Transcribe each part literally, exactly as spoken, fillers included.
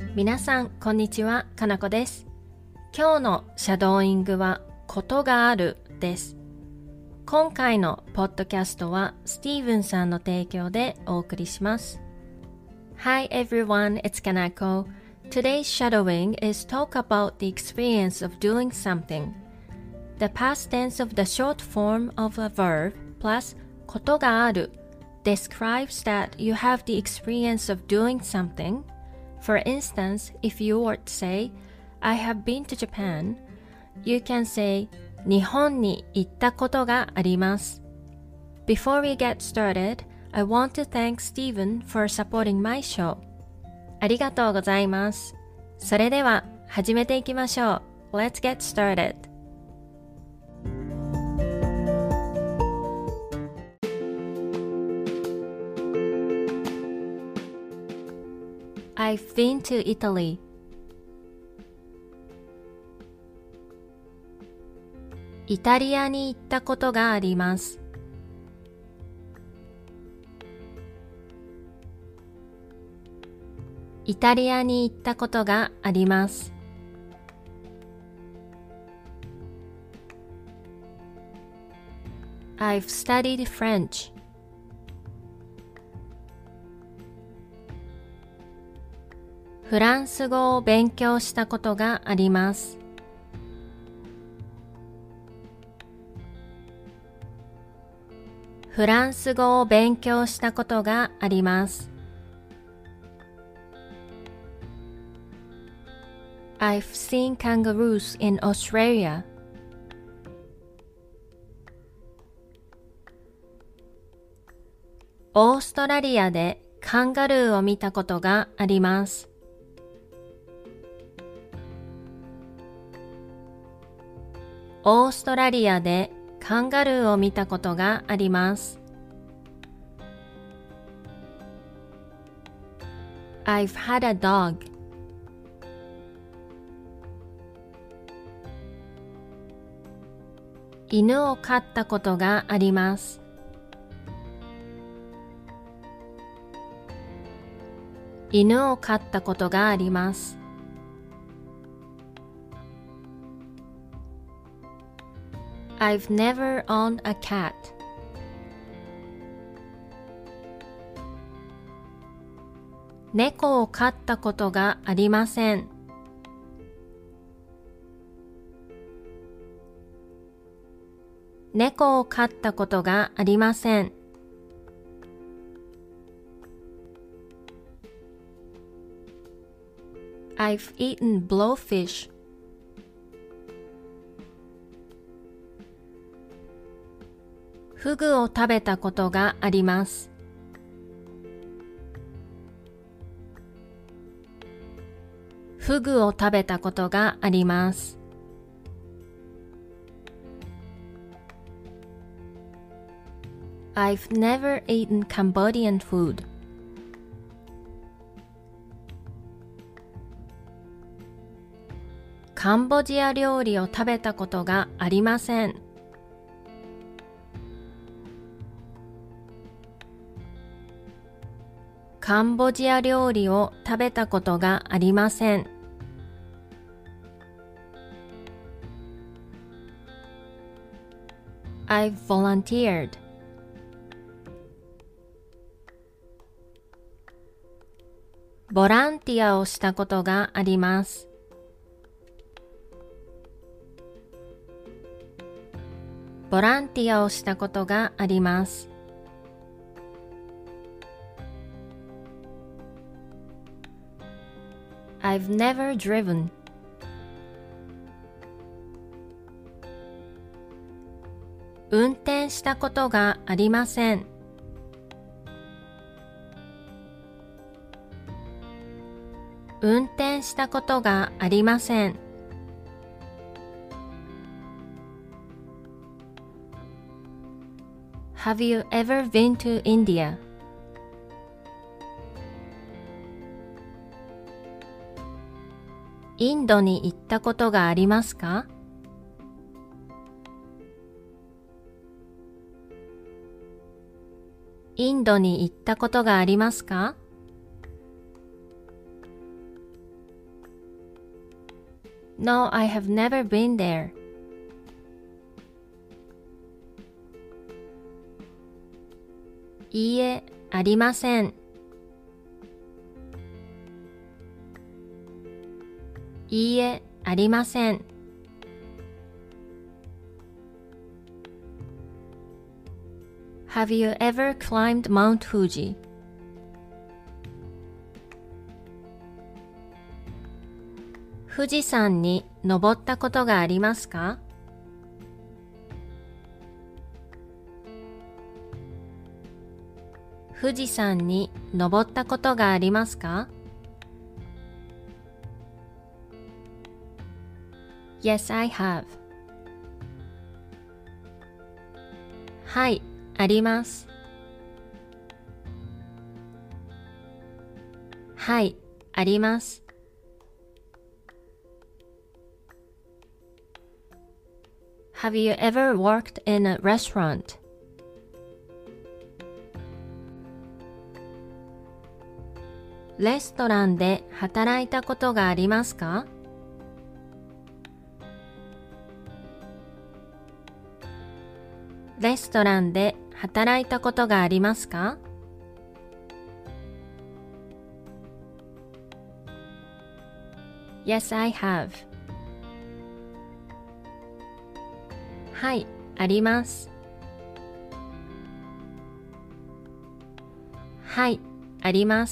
皆さん、こんにちは。かなこです。今日のシャドーイングは、ことがあるです。今回のポッドキャストは、スティーブンさんの提供でお送りします。Hi everyone, it's Kanako. Today's shadowing is talk about the experience of doing something. The past tense of the short form of a verb plus ことがある describes that you have the experience of doing something.For instance, if you were to say, I have been to Japan, you can say, 日本に行ったことがあります。Before we get started, I want to thank Stephen for supporting my show. ありがとうございます。それでは始めていきましょう。Let's get started.I've been to Italy. イタリアに行ったことがあります。イタリアに行ったことがあります。I've studied French.フランス語を勉強したことがあります。フランス語を勉強したことがあります。I've seen kangaroos in Australia. オーストラリアでカンガルーを見たことがあります。オーストラリアでカンガルーを見たことがあります。I've had a dog. 犬を飼ったことがあります。犬を飼ったことがあります。I've never owned a cat. 猫を飼ったことがありません。猫を飼ったことがありません。I've eaten blowfish.フグを食べたことがあります。フグを食べたことがあります。I've never eaten Cambodian food. カンボジア料理を食べたことがありません。カンボジア料理を食べたことがありません。I've volunteered. ボランティアをしたことがあります。ボランティアをしたことがあります。I've never driven. 運転したことがありません。運転したことがありません。Have you ever been to India? インドに行ったことがありますか？インドに行ったことがありますか？ No, I have never been there. いいえ、ありません。いいえ、ありません。Have you ever climbed Mount Fuji? 富士山に登ったことがありますか？富士山に登ったことがありますか？ Yes, I have. はい、あります。はい、あります。Have you ever worked in a restaurant? レストランで働いたことがありますか？レストランで働いたことがありますか？ Yes, I have. はい、あります。はい、あります。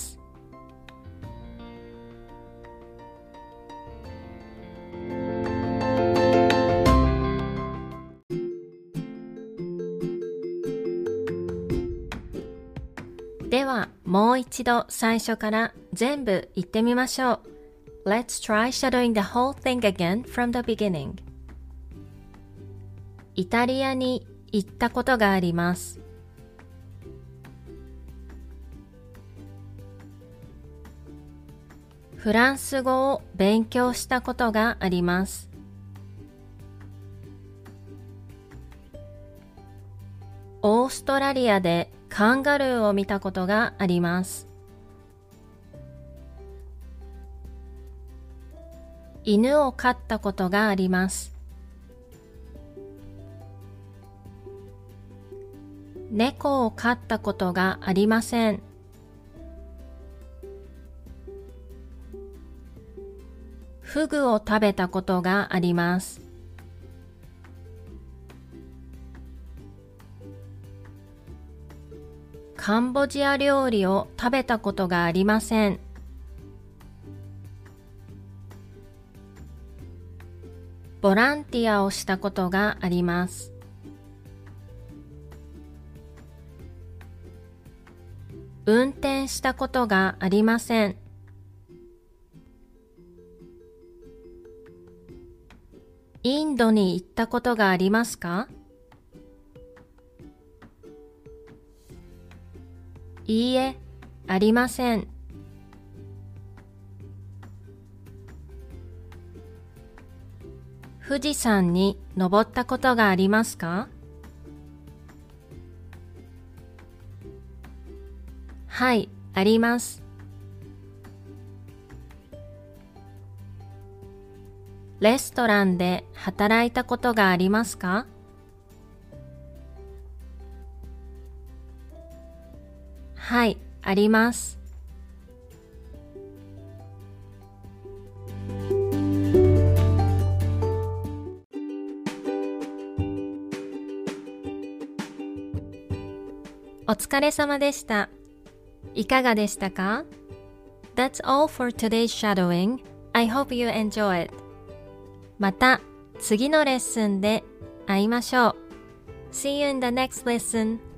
では、もう一度最初から全部言ってみましょう。Let's try shadowing the whole thing again from the beginning. イタリアに行ったことがあります。フランス語を勉強したことがあります。オーストラリアでカンガルーを見たことがあります。犬を飼ったことがあります。猫を飼ったことがありません。フグを食べたことがあります。カンボジア料理を食べたことがありません。ボランティアをしたことがあります。運転したことがありません。インドに行ったことがありますか？いいえ、ありません。富士山に登ったことがありますか？はい、あります。レストランで働いたことがありますか？はい、あります。お疲れ様でした。いかがでしたか？ That's all for today's shadowing. I hope you enjoy it. また次のレッスンで会いましょう。See you in the next lesson.